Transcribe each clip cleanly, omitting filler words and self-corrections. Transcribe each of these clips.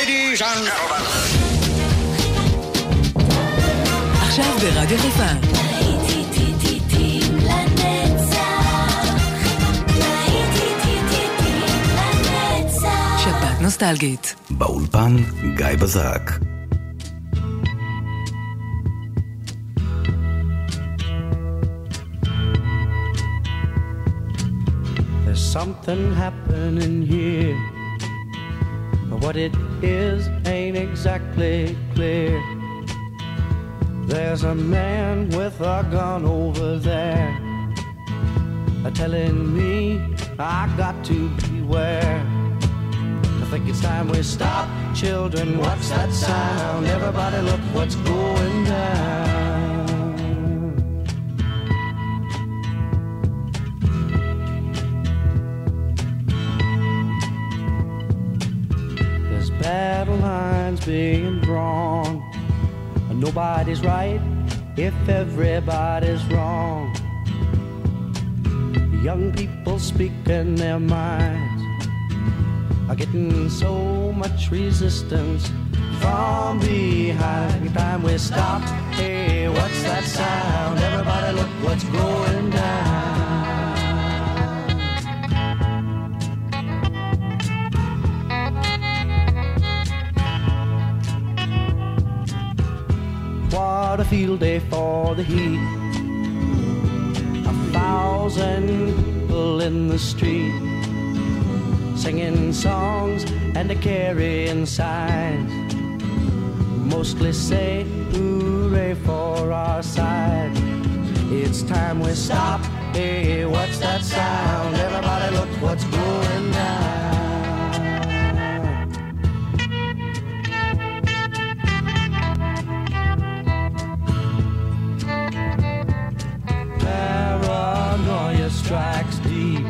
Ladies and gentlemen. עכשיו ברדיו חיפה. שבת נוסטלגית. באולפן גיא בזק. There's something happening here. What it is ain't exactly clear. There's a man with a gun over there, telling me I got to beware. I think it's time we stop. Children, what's that sound? Everybody look what's going down. There's battle lines being drawn. Nobody's right if everybody's wrong. Young people speaking their minds are getting so much resistance from behind. Time we stop. Hey, what's that sound? Everybody look what's going down. What a field day for the heat. 1,000 people in the street, singing songs and carrying signs. Mostly say hooray for our side. It's time we stop. Hey, what's that sound? Everybody look what's going down. Paranoia strikes deep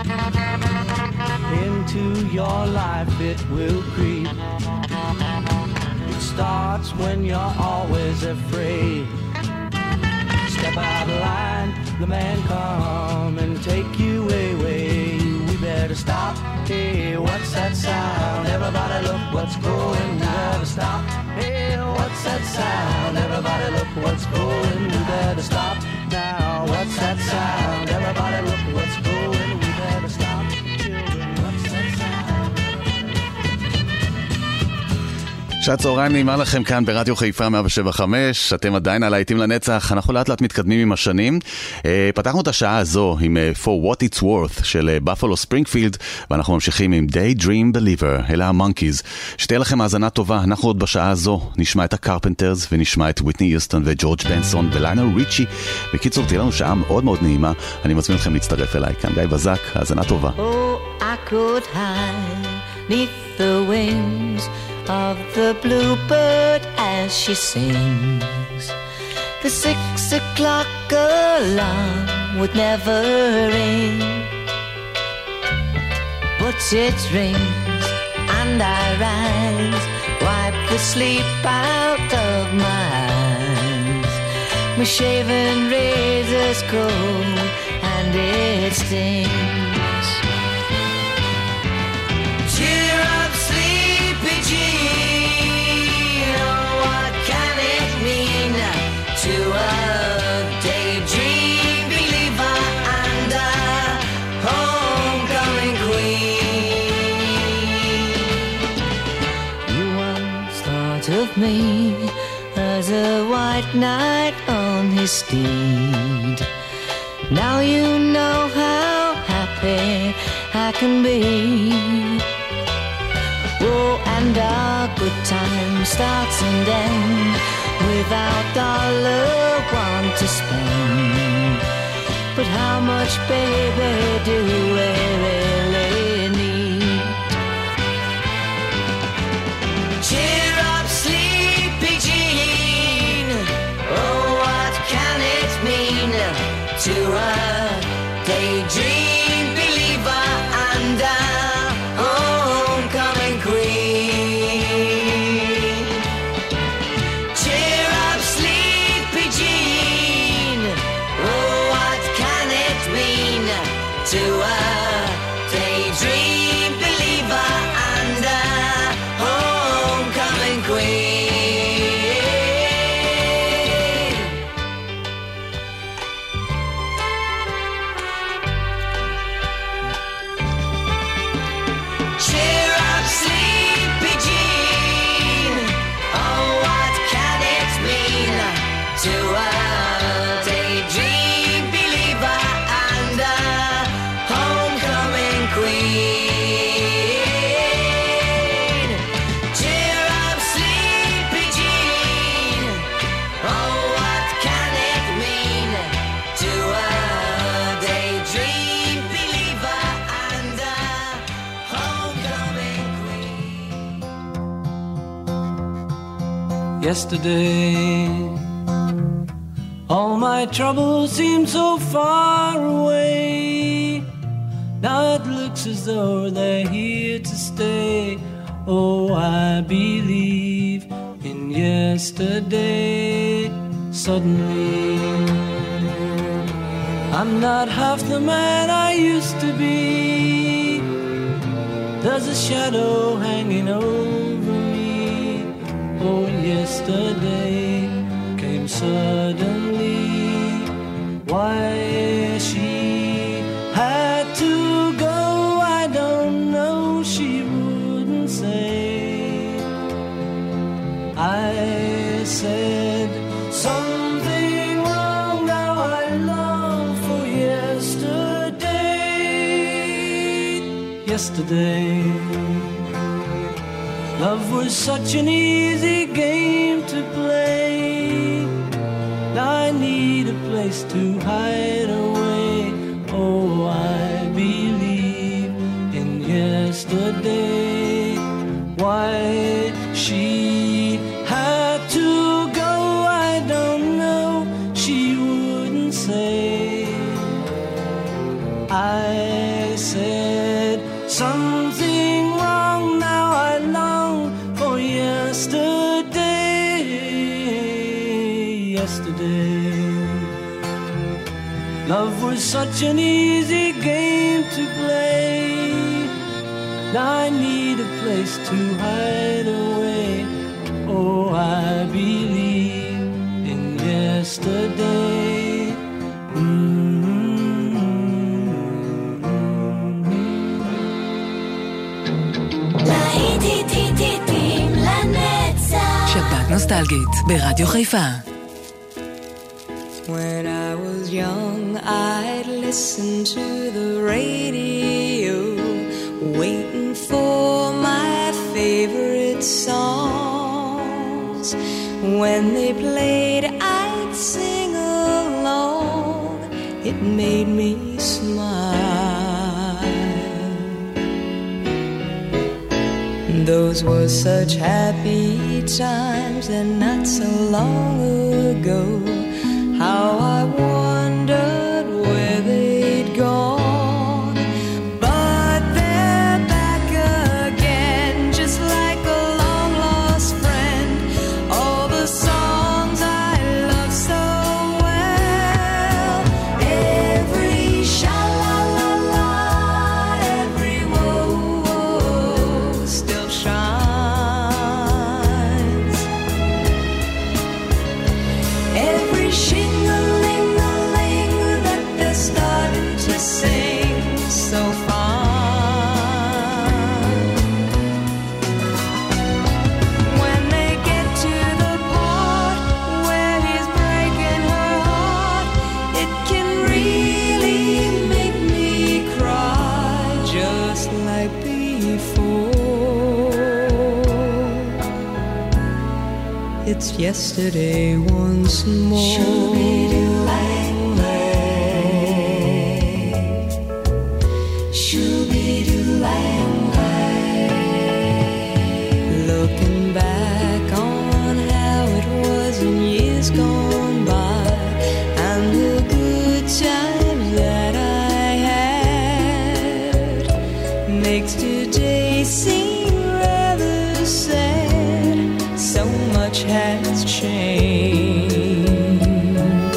into your life, it will creep. It starts when you're always afraid. Step out of line, the man come and take you away. We better stop. Hey, what's that sound? Everybody look what's going. We better stop. Hey, what's that sound? Everybody look what's going. We better stop now. What's that sound? Everybody look what's going. We better stop. Children, what's that sound? שעת צהריים נעימה לכם כאן ברדיו חיפה 107.5. אתם עדיין על להיטים לנצח. אנחנו לאט לאט מתקדמים עם השנים. פתחנו את השעה הזו עם For What It's Worth של Buffalo Springfield, ואנחנו ממשיכים עם Daydream Believer, אלה המונקיז. שתהיה לכם האזנה טובה. אנחנו עוד בשעה הזו נשמע את הקרפנטרס ונשמע את וויטני יוסטון וג'ורג' בנסון וליונל ריצ'י. בקיצור, תהיה לנו שעה מאוד מאוד נעימה. אני מזמין אתכם להצטרף אליי. כאן גיא בזק, האזנה טובה. Oh, I could hide neath the wings of the bluebird as she sings. The 6 o'clock alarm would never ring, but it rings and I rise, wipe the sleep out of my eyes. My shaven razor's cold and it stings. Cheer up, sleepy Jean, oh, what can it mean to a daydream believer and a homecoming queen? You once thought of me as a white knight on his steed. Now you know how happy I can be. Oh, and our good time starts and ends without dollar one to spend. But how much, baby, do we really need? Cheer up, sleepy Jean, oh, what can it mean to a daydream believer and a homecoming queen? Cheer up, sleepy Jean, oh, what can it mean to a yesterday. All my troubles seem so far away. Now it looks as though they're here to stay. Oh, I believe in yesterday. Suddenly, I'm not half the man I used to be. There's a shadow hanging over me. Oh, yesterday came suddenly. Why she had to go, I don't know, she wouldn't say. I said something wrong, now I long for yesterday. Yesterday, love was such an easy game to play. Now I need a place to hide away. Oh, I believe in yesterday. Why she had to go, I don't know, she wouldn't say. I said something wrong, now I long for yesterday. Yesterday, love was such an easy game to play. Now I need a place to hide away. Oh, I believe in yesterday. שבת נוסטלגית ברדיו חיפה. When I was young, I'd listen to the radio, waiting for my favorite songs. When they played, I'd sing along. It made me smile. Those were such happy times, and not so long ago. How I wondered where they'd gone. But they're back again, just like a long-lost friend. All the songs I love so well. Every sha-la-la-la, every whoa-whoa still shines. Every shing-a-ling-a-ling that they're starting to sing so fine. When they get to the part where he's breaking her heart, it can really make me cry, just like before. It's yesterday once more. Looking back on how it was in years gone by, and the good times that I had, makes today seem rather sad. So much has changed.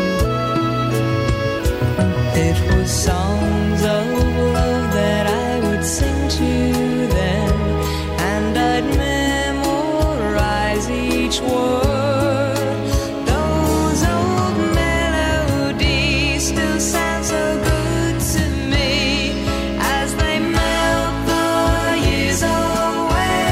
It was songs of love that I would sing to them, and I'd memorize each word. Those old melodies still sound so good to me as they melt the years away.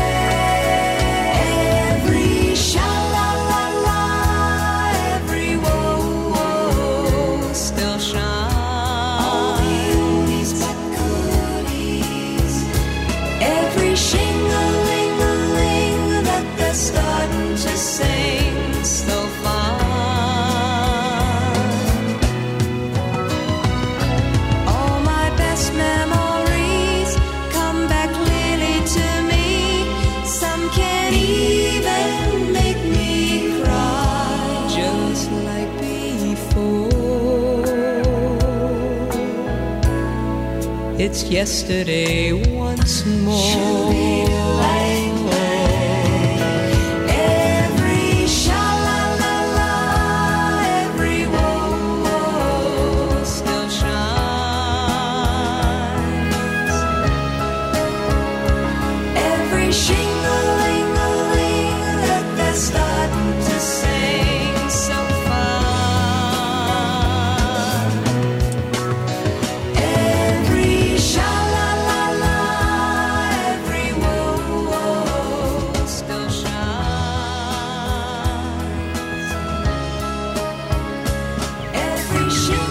Every sha-la-la-la, every whoa-whoa still shines. All the oldies but goodies. Every shing-a-ling-a-ling that they're starting to sing. it's yesterday once more. Every sha-la-la-la, every whoa-whoa Still shines. every shing-a-ling-a-ling that they're starting to sing so far. Every sha-la-la-la, every whoa-whoa Still shines. every shing.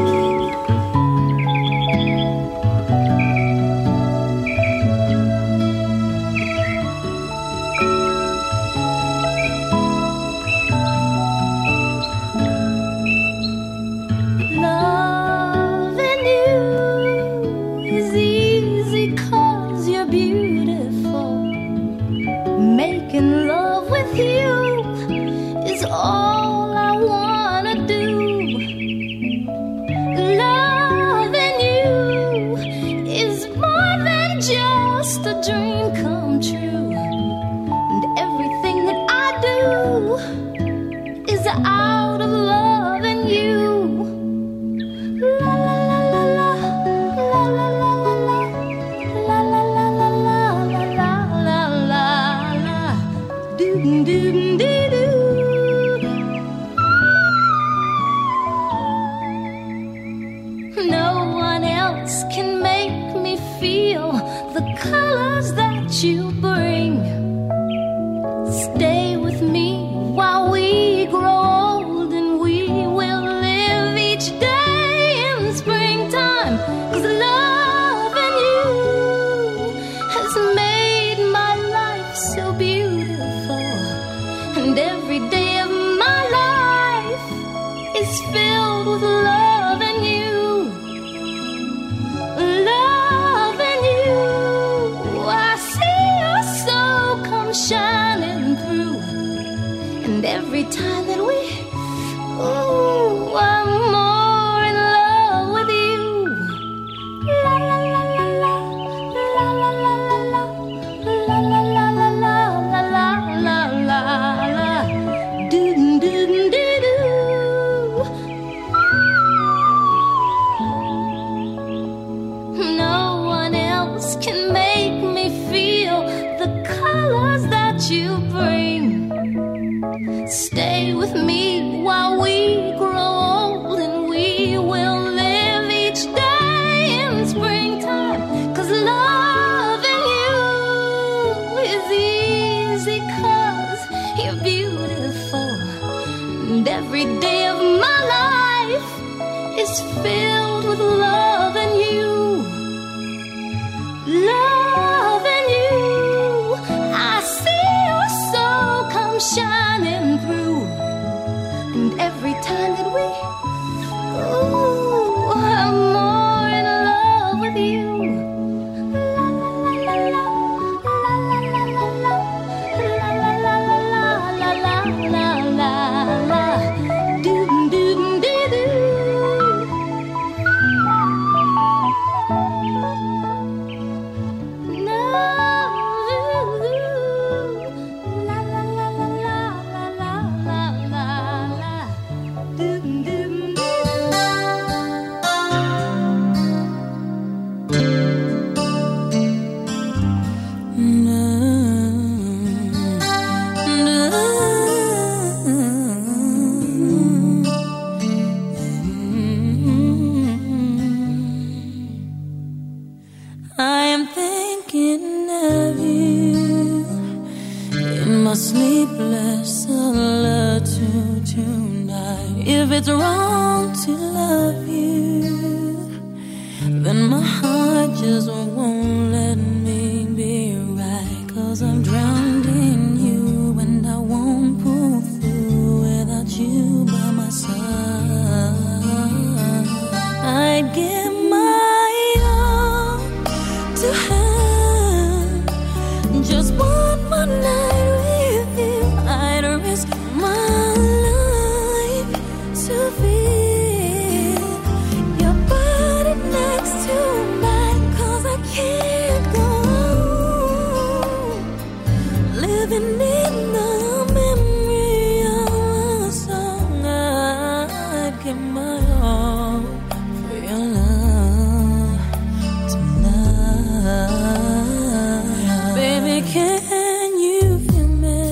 Loving you is easy 'cause you're beautiful. Making love with you is all I wanna do. Loving you is more than just a dream come true. And everything that I do is out of loving you. La la la la la la la la la la la la la la la la doo doo doo doo. No one else can make me feel the colors that you bring. Stay with me while we grow old, and we will live each day in springtime. 'Cause loving you has made my life so beautiful, and every day of my life is filled with loving you. Loving you, I see your soul come shining through. And every time that we, ooh, I'm more in love with you. La la la la la, la la la la la, la la la la la, la la la la, doo doo doo doo. No one else can make me feel the colors that you bring. Stay with me while we grow old, and we will live each day in springtime. 'Cause loving you is easy 'cause you're beautiful, and every day of my life is filled with loving you. Loving you, I see your soul come shining through. And every time that we, ooh, I'm more in love with you. La la la la la, la la la la la, la la la la la la la, doo doo doo doo. I am thinking of you in my sleepless solitude tonight. If it's wrong to love you, then my heart just won't let me be right. 'Cause I'm drowned in you, and I won't pull through without you by my side. I'd give my all to have just one more night with you. I'd risk my life to feel your body next to mine. living in the memory of a song. I'd give my all for your love tonight. Baby, can you feel me?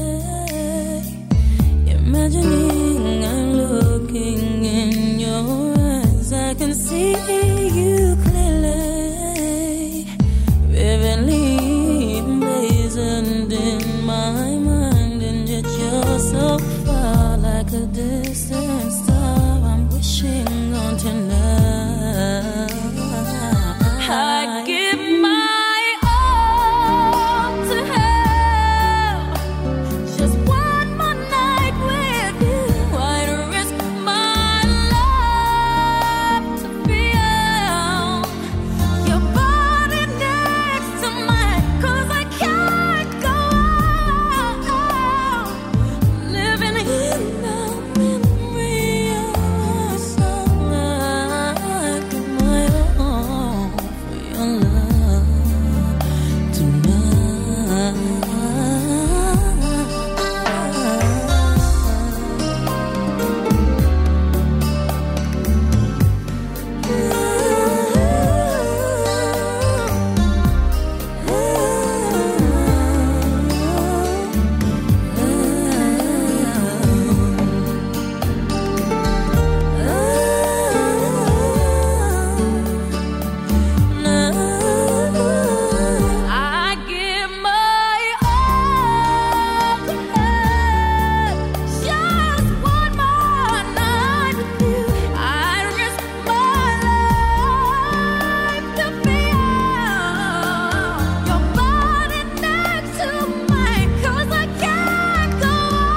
Imagining I'm looking in your eyes. I can see you clearly, vividly emblazoned in my mind, and yet you're so far, like a distant star I'm wishing on tonight. I give my all to have just one more night with you. I'd risk my life to feel your body next to mine, 'cause I can't go on living in the memory of a song. I give my all for your love tonight. I give my all to have just one more night with you. I'd risk my life to feel your body next to mine, 'cause I can't go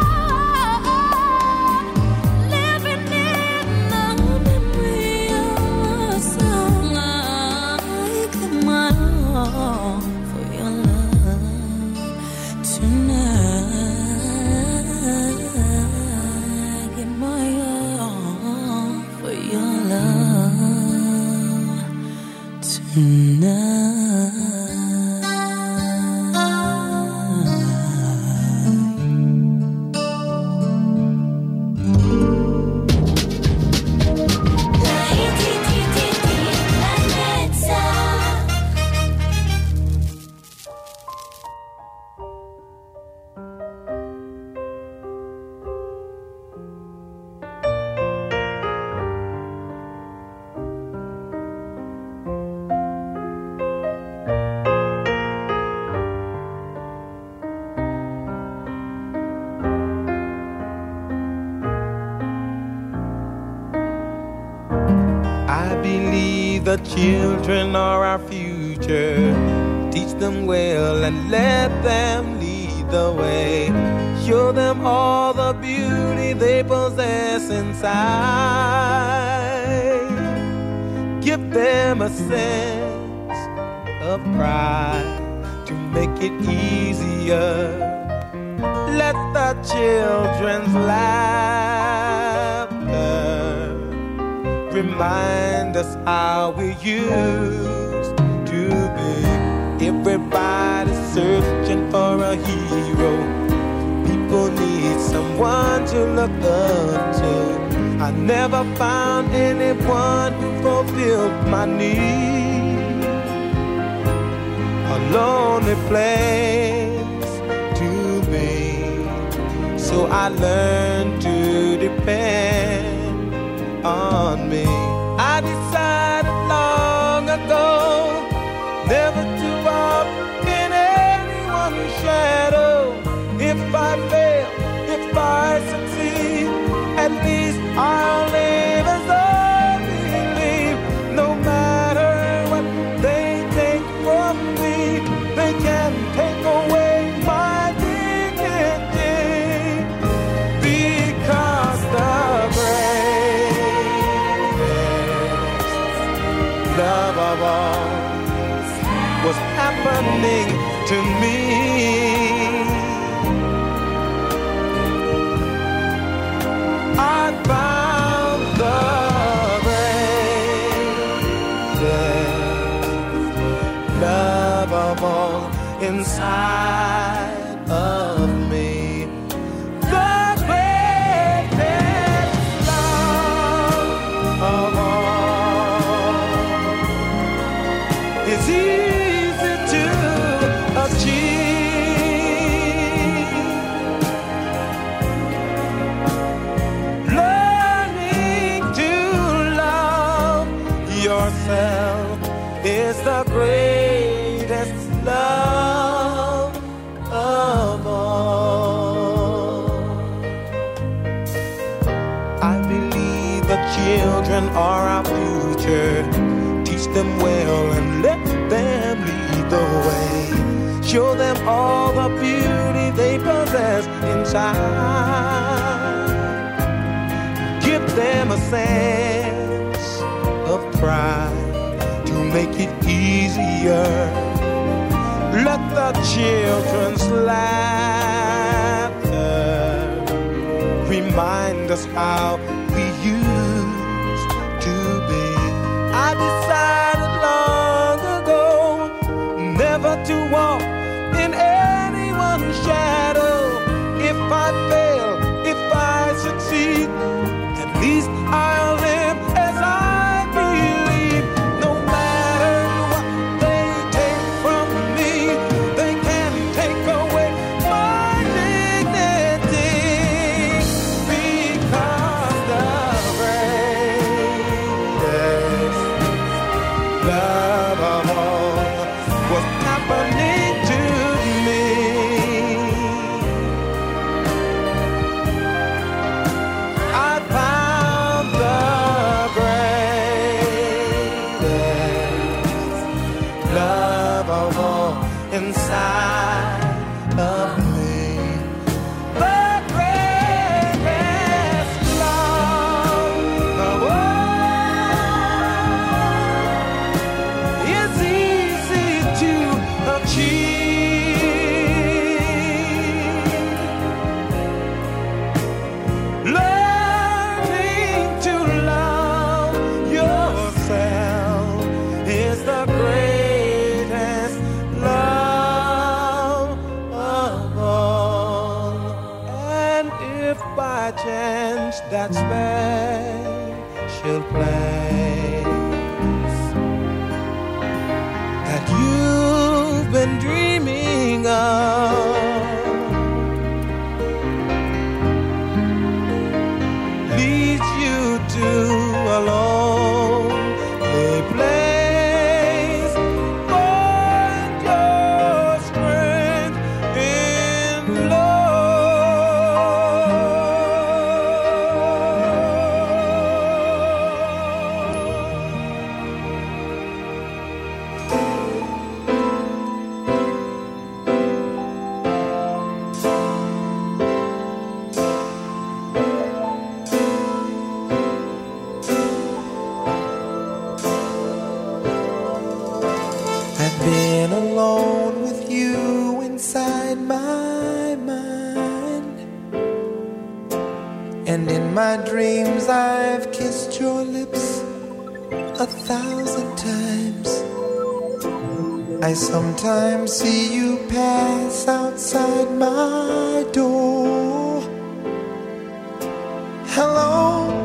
on living in the memory of a song. I give my all for your love tonight. I give my all for your love tonight. I believe the children are our future. Teach them well and let them lead the way. Show them all the beauty they possess inside. Give them a sense of pride to make it easier. Let the children's laughter remind us how we used to be. Everybody's searching for a hero. People need someone to look up to. I never found anyone who fulfilled my need. A lonely place to be. So I learned to depend on me. I decided long ago never to walk in anyone's shadow. If I fail, if I succeed, at least I'll live as I believe. No matter what they take from me, they can take away my dignity, because the love of all was happening to me. I found the greatest love of all inside of future. Teach them well and let them lead the way. Show them all the beauty they possess inside. Give them a sense of pride to make it easier. Let the children's laughter remind us how we used to be. I decided long ago never to walk in anyone's shadow. If I fail, if I succeed, at least I'll live as I believe. No matter what they take from me, they can't take away my dignity. Because the greatest love of all was happening to me. I found the greatest love of all inside of me. The greatest love of all is easy to achieve. Learning to love yourself is the greatest love of all. And if by chance that special place that you've been dreaming of leads you to a lonely place, find your strength in I've been alone with you inside my mind, and in my dreams I've kissed your lips 1,000 times. I sometimes see you pass outside my door. Hello,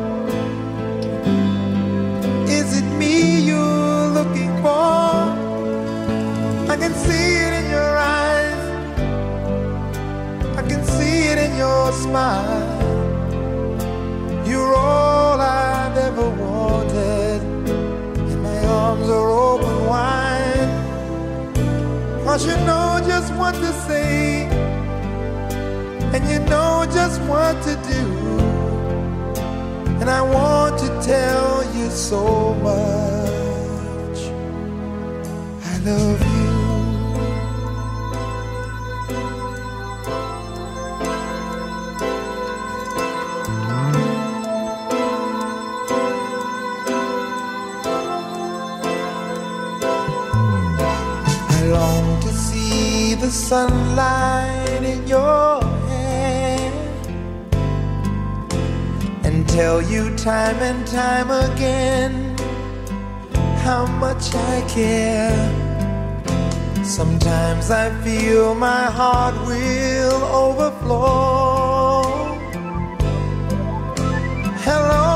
is it me you're looking for? I can see it in your eyes, I can see it in your smile. You're all I've ever wanted, and my arms are open wide. 'Cause you know just what to say, and you know just what to do. And I want to tell you so much I love you. I long to see the sunlight in your hair and tell you time and time again how much I care. Sometimes I feel my heart will overflow. Hello,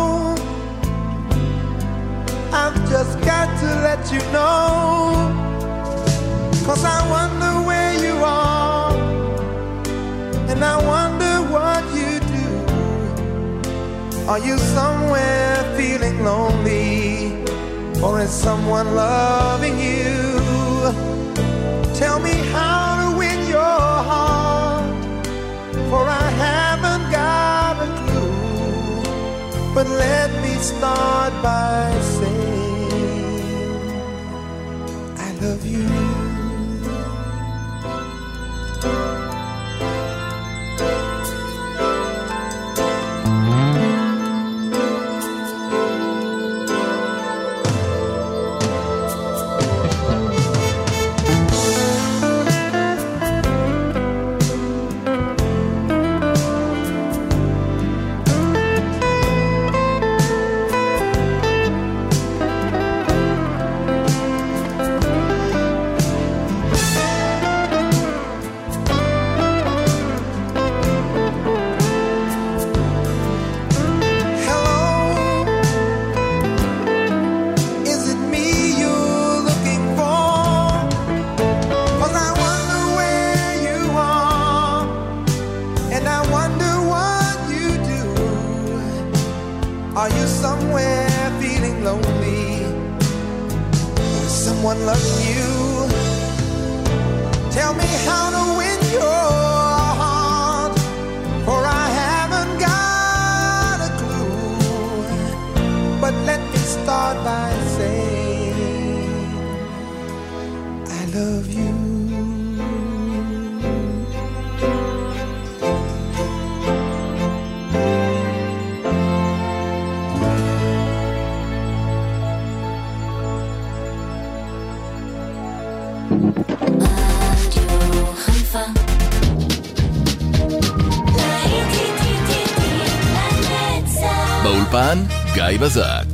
I've just got to let you know, 'cause I wonder where you are, and I wonder what you do. Are you somewhere feeling lonely, or is someone loving you? Tell me how to win your heart, for I haven't got a clue. But let me start by saying you. Are you somewhere feeling lonely? Is someone loving you? Tell me how to win your heart, for I haven't got a clue. But let me start by saying I love you. באולפן גיא בזק.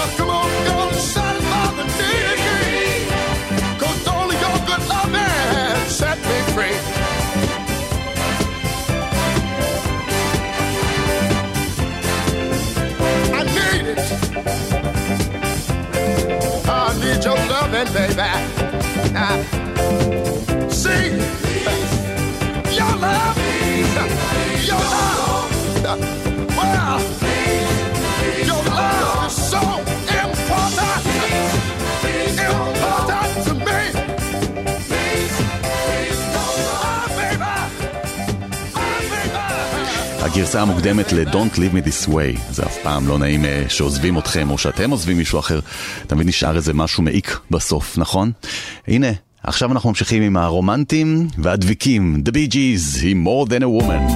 Cause only your good loving הגרסה המוקדמת ל-Don't Leave Me This Way. זה אף פעם לא נעים שעוזבים אתכם או שאתם עוזבים מישהו אחר. תמיד נשאר איזה משהו מעיק בסוף, נכון? הנה, עכשיו אנחנו ממשיכים עם הרומנטים והדביקים. The Bee Gees, היא More Than a Woman.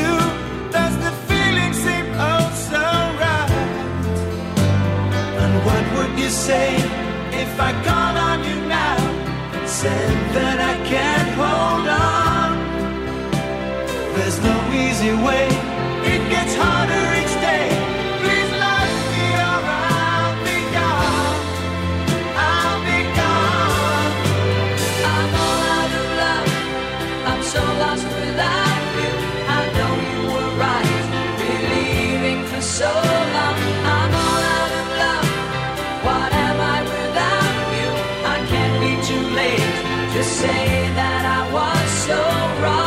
And You say, if I call on you now and said that I can't hold on, there's no easy way, it gets harder each day. Please let me or I'll be gone. I'll be gone. I'm all out of love, I'm so lost without you. I know you were right, believing for so long. I'm all out of love, what am I without you? I can't be too late to say that I was so wrong.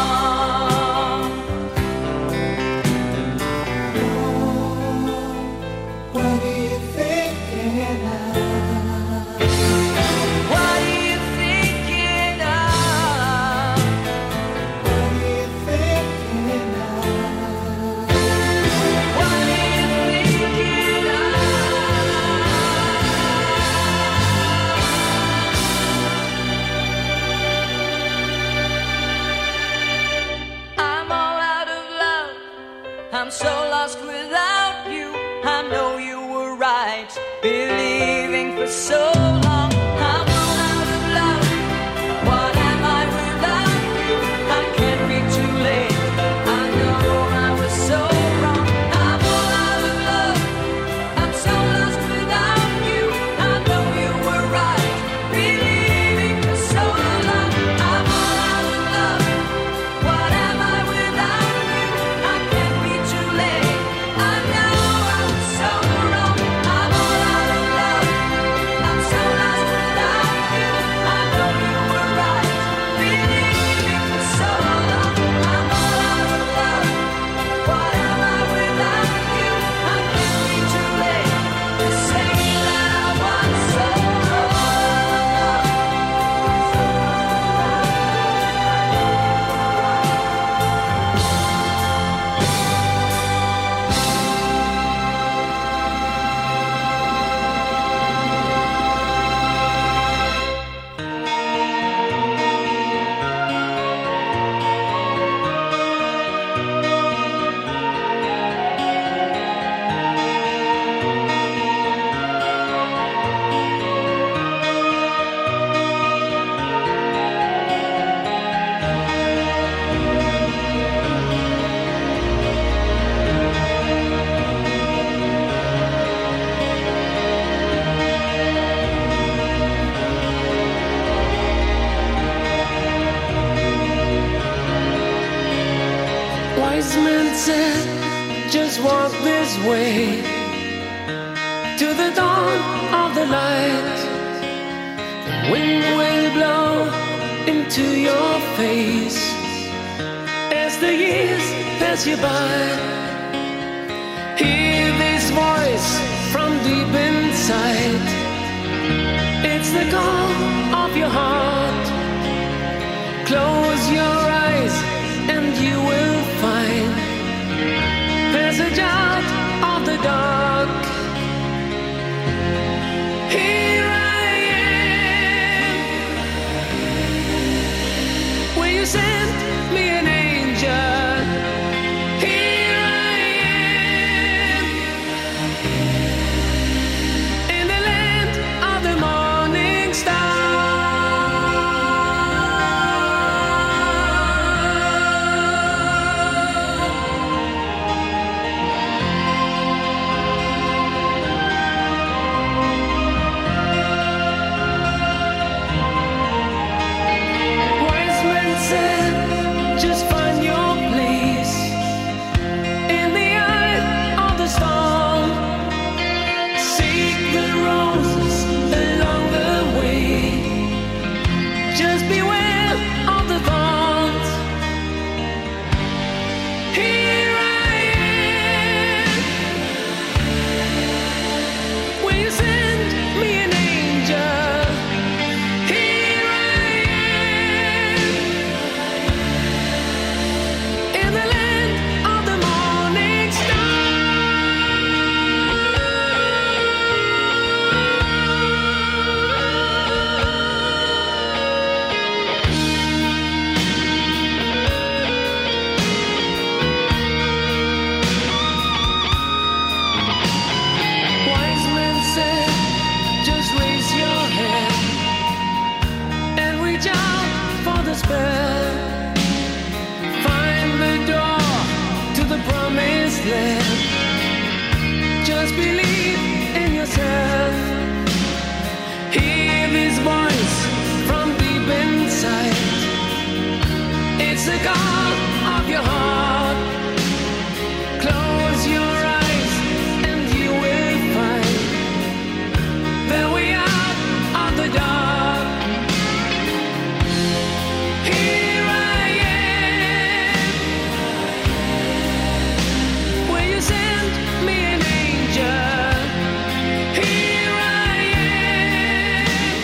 What are you thinking of? What are you thinking of? What are you thinking of? What are you thinking of? I'm all out of love, I'm so lost without you. I know you were right, believing for so long. I'm all out of love, what am I without you? I can't be too late, I know I was so wrong. I'm all out of love, I'm so lost without you. I know you were right, believing for so long. I'm all out of love, what am I without you? I can't be too late, I know I was so wrong. I'm all out of love, I'm so lost without you. I know you were right, believing for so long. I'm all out of love, what am I without you? I can't be too late to say that I was so Wise men said, just walk this way to the dawn of the light. The wind will blow into your face as the years pass you by. Hear this voice from deep inside. It's the call of your heart. Close your eyes and you will find passage out of the dark. Here I am. Will you send me an angel? Here I am. In the land of the morning star. believe in yourself. Hear his voice from deep inside. It's the call of your heart. Close your eyes and you will find that we are on the dark. Here I am. Will you send me an angel? Here I am.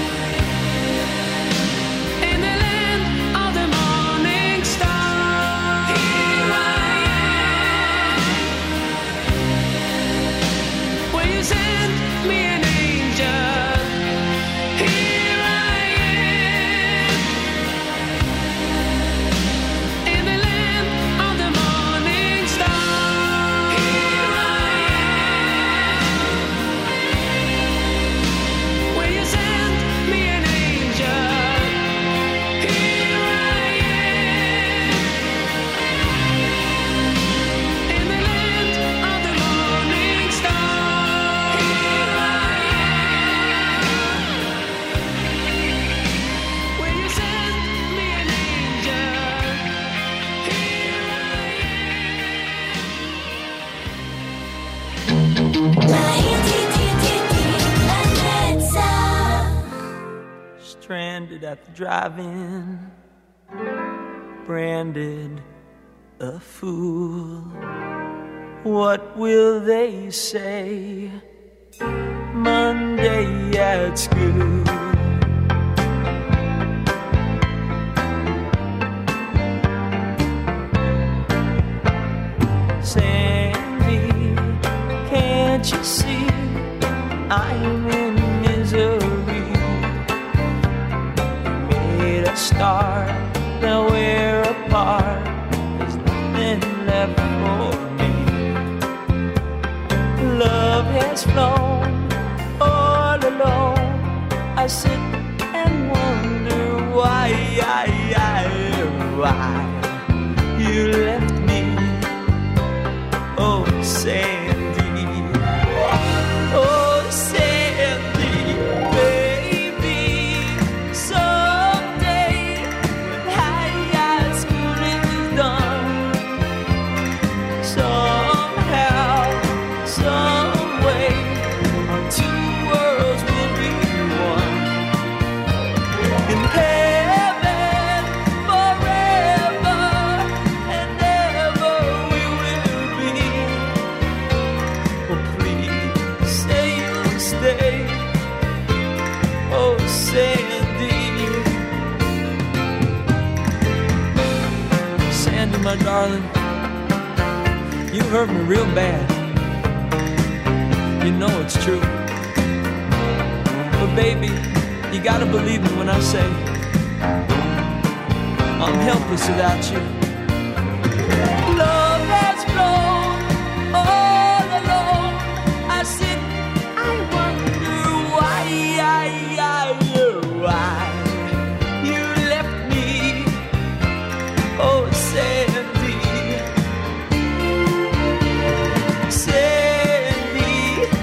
In the land of the morning star. Here I am. Will you send me an angel? Here I am. In the land of the morning star. Here I am. Will you send me an angel? Here I am. In the land of the morning star. Here I am. Will you send me an angel? Here Stranded at the drive-in, branded a fool. What will they say Monday at school? Sandy, can't you see I'm in misery? Made a start, now we're apart. There's nothing left for me. Love has flown all alone. I sit and wonder why you left me. Oh, Sandy, oh, Sandy, baby. Someday when high school is done, somehow, some way, our two worlds will be one. In heaven, forever and ever we will be. Oh, please say you'll stay. Oh, Sandy, Sandy, my darling, you hurt me real bad. You know it's true. But baby, you gotta believe me when I say I'm helpless without you. Love has flown all alone. I sit, I wonder why you left me. Oh, Sandy, Sandy,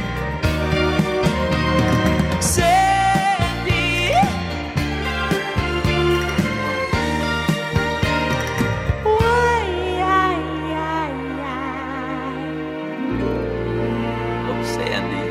Sandy. Why? Oh, Sandy.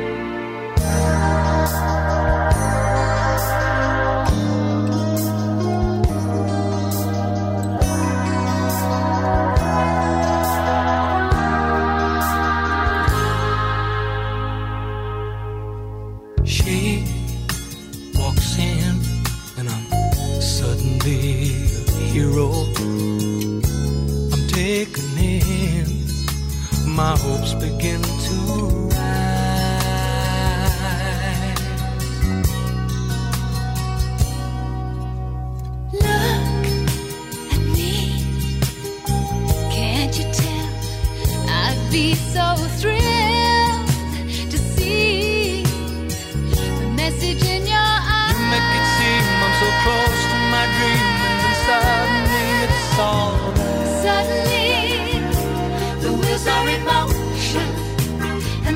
She walks in and I'm suddenly a hero. I'm taken in, my hopes begin to rise. Look at me, can't you tell? I'd be so thrilled to see the message in your eyes. You make it seem I'm so close to my dream, and then suddenly it's all there. Suddenly, the wheels are in motion,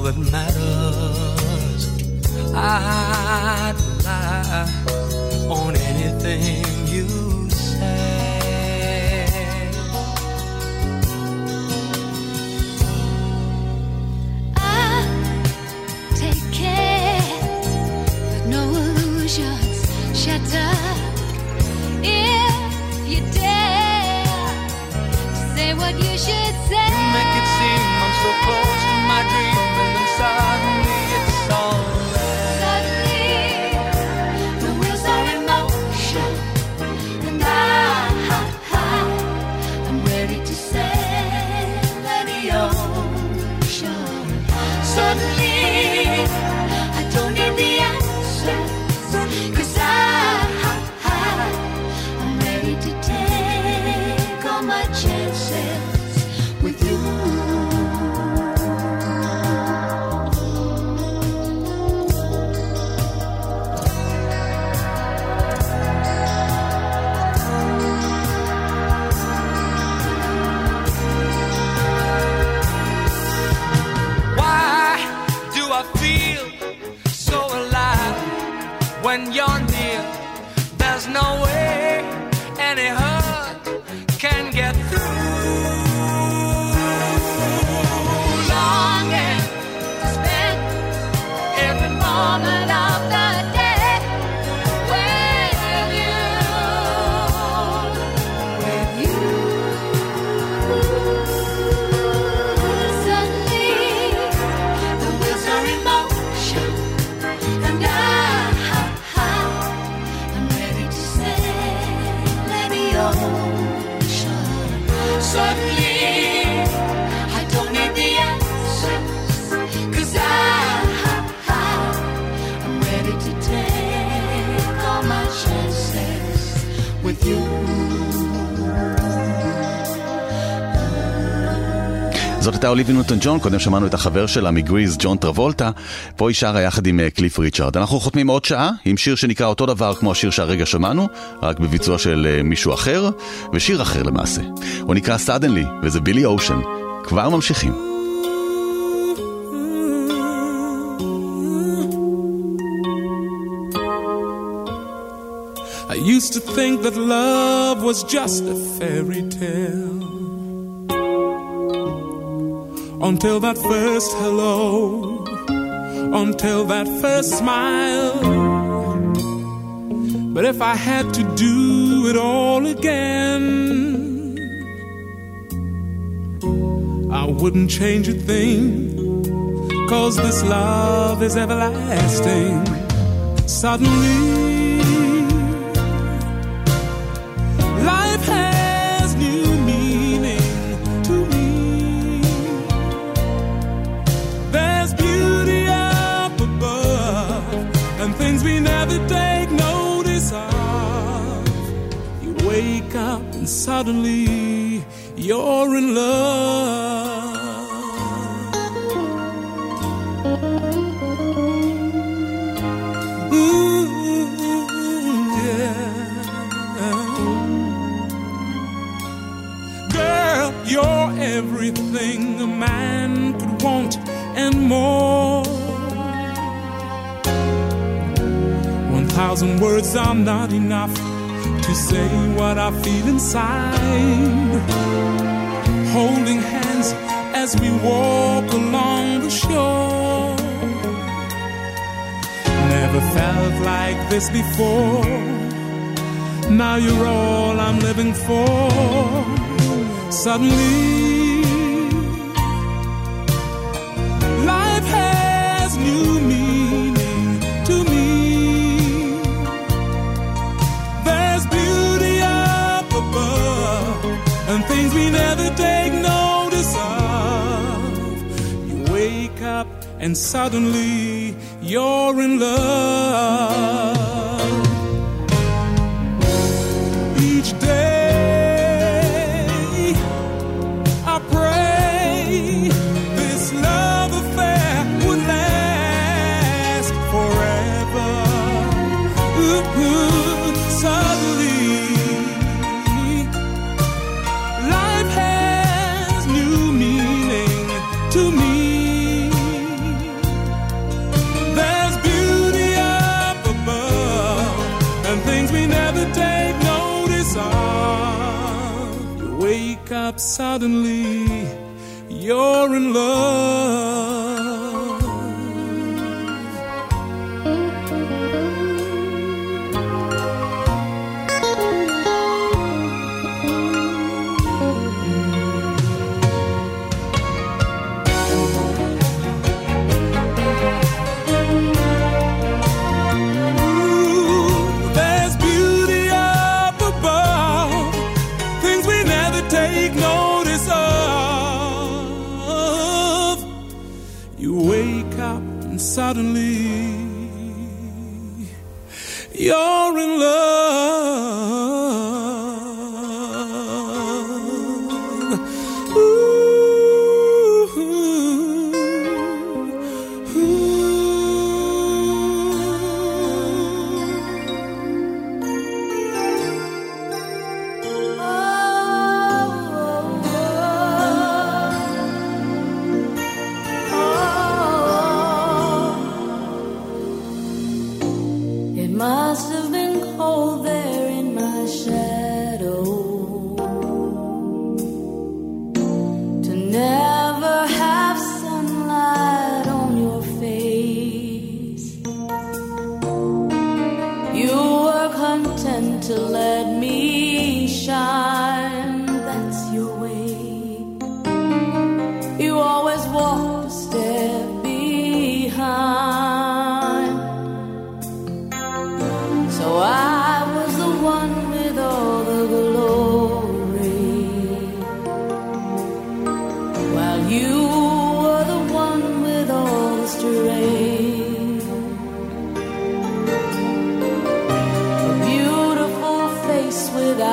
that matters. I'd rely on anything you say. I take care that no illusions shatter. If you dare to say what you should say, you make it seem I'm so close to my dream, and then suddenly it's all suddenly I don't need the answers, 'cause I'm ready to take all my chances with you. When you're near, there's no way any hurt can get through. Longing to spend every moment of the day with you, with you. Suddenly, the wheels are in motion, and suddenly I don't need the answers, 'cause I'm ready to take all my chances with you. זאת הייתה אוליביה ניוטון ג'ון, קודם שמענו את החבר שלה מגריז, ג'ון טרבולטה, פה היא שרה יחד עם קליף ריצ'ארד. אנחנו חותמים עוד שעה עם שיר שנקרא אותו דבר כמו השיר שהרגע שמענו, רק בביצוע של מישהו אחר, ושיר אחר למעשה. הוא נקרא Suddenly, וזה בילי אושן. כבר ממשיכים. I used to think that love was just a fairy tale, until that first hello, until that first smile. But if I had to do it all again, I wouldn't change a thing, 'cause this love is everlasting. Suddenly life has new meaning to me. There's beauty up above and things we never take notice of. You wake up and suddenly you're in love. You're everything a man could want and more. 1,000 words are not enough to say what I feel inside. Holding hands as we walk along the shore. Never felt like this before. Now you're all I'm living for. Suddenly life has new meaning to me. There's beauty up above and things we never take notice of. You wake up and suddenly you're in love. Each day this love affair would last forever. Suddenly life has new meaning to me. up suddenly, you're in love. Suddenly, you're in love. Ooh, ooh. Must have been cold there in my shadow to never have sunlight on your face. You were content to let me shine, that's your way. You always walked a step behind. So I was the one with all the glory, while you were the one with all the strength. A beautiful face with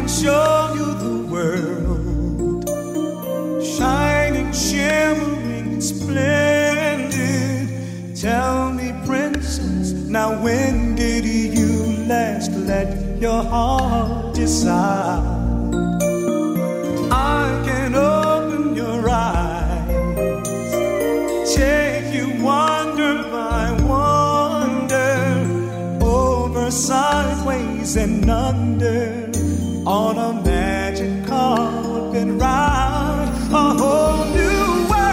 show you the world, shining, shimmering, splendid. Tell me, princess, now when did you last let your heart decide? I can open your eyes, take you wonder by wonder, over, sideways and under, on a magic carpet ride, a whole new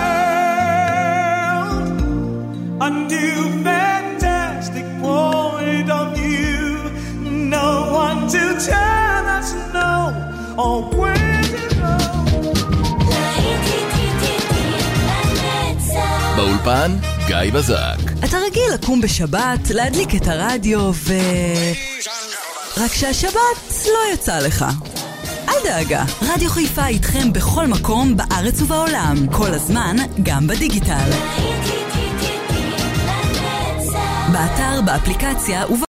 world, a new fantastic point of view. No one to tell us no or where to go. באולפן גיא בזק. אתה רגיל לקום בשבת, להדליק את הרדיו רק שהשבת לא יצא לך. אל דאגה, רדיו חיפה איתכם בכל מקום בארץ ובעולם, כל הזמן, גם בדיגיטל. באתר, באפליקציה